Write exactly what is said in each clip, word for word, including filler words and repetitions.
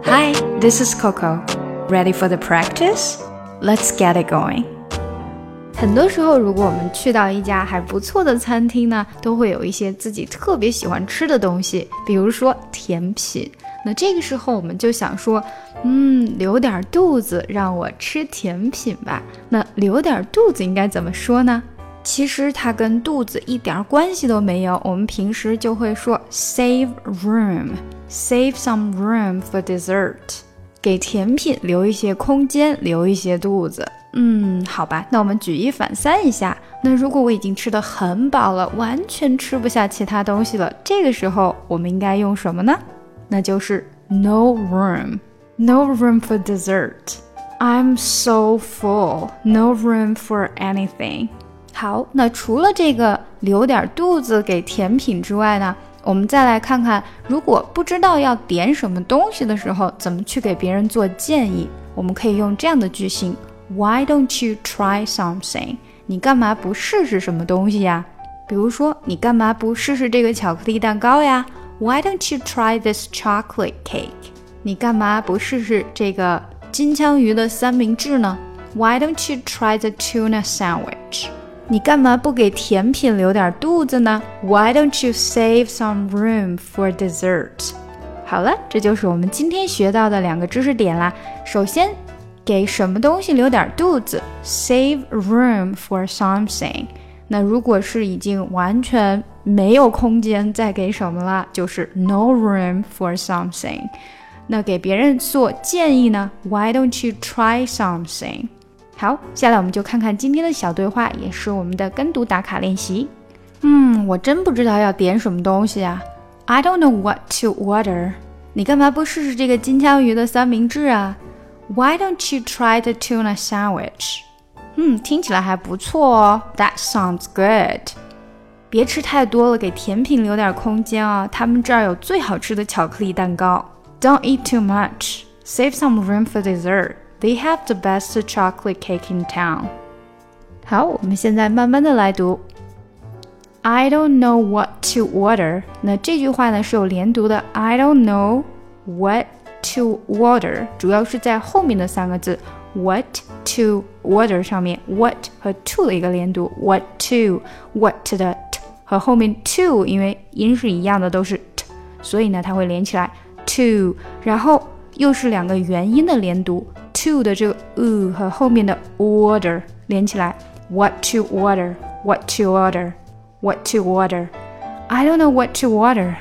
Hi, this is Coco. Ready for the practice? Let's get it going. 很多时候，如果我们去到一家还不错的餐厅呢，都会有一些自己特别喜欢吃的东西，比如说甜品。那这个时候我们就想说，嗯，留点肚子让我吃甜品吧。那留点肚子应该怎么说呢？其实它跟肚子一点关系都没有，我们平时就会说 save room, save some room for dessert， 给甜品留一些空间，留一些肚子。嗯，好吧，那我们举一反三一下。那如果我已经吃得很饱了，完全吃不下其他东西了，这个时候我们应该用什么呢？那就是 no room, no room for dessert. I'm so full, no room for anything. 好，那除了这个留点肚子给甜品之外呢，我们再来看看，如果不知道要点什么东西的时候，怎么去给别人做建议。我们可以用这样的句型 Why don't you try something? 你干嘛不试试什么东西呀？比如说，你干嘛不试试这个巧克力蛋糕呀？ Why don't you try this chocolate cake? 你干嘛不试试这个金枪鱼的三明治呢？ Why don't you try the tuna sandwich? 你干嘛不给甜品留点肚子呢？ Why don't you save some room for dessert? 好了，这就是我们今天学到的两个知识点啦。首先，给什么东西留点肚子 Save room for something。 那如果是已经完全没有空间再给什么了，就是 no room for something。 那给别人做建议呢 Why don't you try something？ 好，下来我们就看看今天的小对话，也是我们的跟读打卡练习。嗯，我真不知道要点什么东西啊。 I don't know what to order。 你干嘛不试试这个金枪鱼的三明治啊？ Why don't you try the tuna sandwich? 嗯，听起来还不错哦。 That sounds good。 别吃太多了，给甜品留点空间啊。他们这儿有最好吃的巧克力蛋糕。 Don't eat too much. Save some room for dessert. They have the best chocolate cake in town. 好，我们现在慢慢的来读。I don't know what to order. 那这句话呢是有连读的。 I don't know what to order 主要是在后面的三个字 what to order 上面 what 和 to 的一个连读 what to what 的 t 和后面 to 因为音是一样的都是 t 所以呢它会连起来 to 然后又是两个元音的连读 to 的这个 u 和后面的 order 连起来 what to order what to order what to order I don't know what to order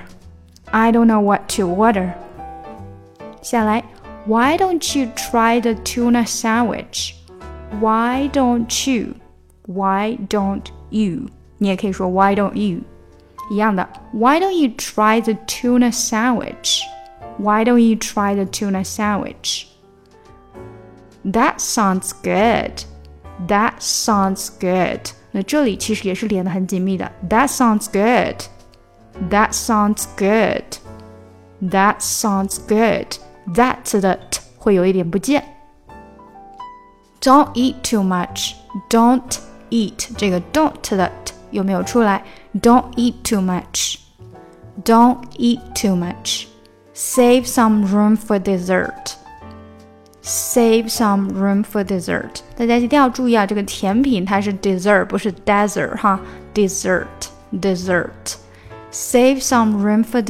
I don't know what to order下来 Why don't you try the tuna sandwich? Why don't you? Why don't you? 你也可以说 Why don't you? 一样的 Why don't you try the tuna sandwich? Why don't you try the tuna sandwich? That sounds good. That sounds good. 那这里其实也是连得很紧密的 That sounds good. That sounds good. That sounds good.That 的 t 会有一点不见。Don't eat too much. Don't eat 这个 don't 的 t 有没有出来 Don't eat too much. Don't eat too much. Save some room for dessert. Save some room for dessert. 大家一定要注意啊，这个甜品它是 dessert 不是 desert 哈 Dessert Dessert. Save some room for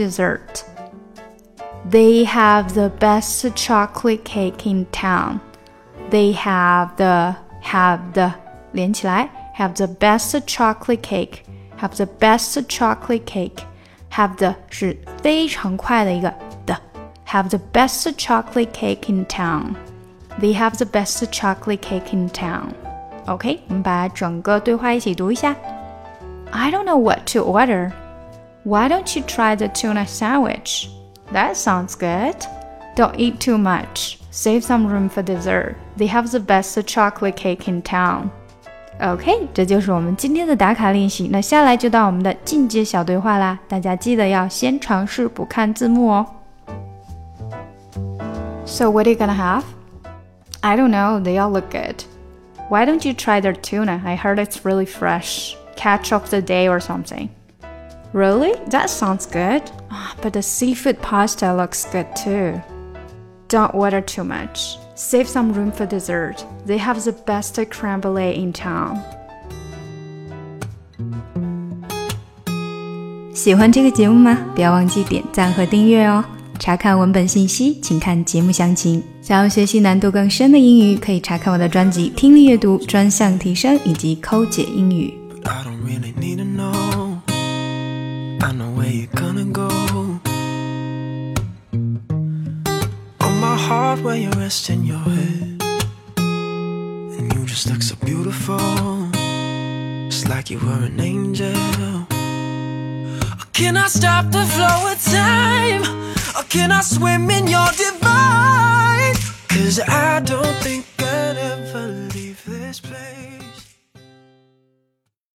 dessert.They have the best chocolate cake in town. They have the, have the, 连起来 have the best chocolate cake. Have the best chocolate cake. Have the 是非常快的一个的 Have the best chocolate cake in town. They have the best chocolate cake in town. OK, 我们把整个对话一起读一下。I don't know what to order. Why don't you try the tuna sandwich?That sounds good. Don't eat too much. Save some room for dessert. They have the best chocolate cake in town. OK, 这就是我们今天的打卡练习。那下来就到我们的进阶小对话啦，大家记得要先尝试不看字幕哦。So what are you gonna have? I don't know, they all look good. Why don't you try their tuna? I heard it's really fresh. Catch of the day or something.Really? That sounds good. Oh, but the seafood pasta looks good too. Don't order too much. Save some room for dessert. They have the best creme brulee in town. 喜欢这个节目吗？不要忘记点赞和订阅哦。查看文本信息，请看节目详情。想要学习难度更深的英语，可以查看我的专辑《听力阅读专项提升》以及《抠解英语》。 I don't really need to know. I know where you're gonna go. On my heart where you're resting your head, and you just look so beautiful, just like you were an angel. Can I stop the flow of time? Or can I swim in your divine? 'Cause I don't think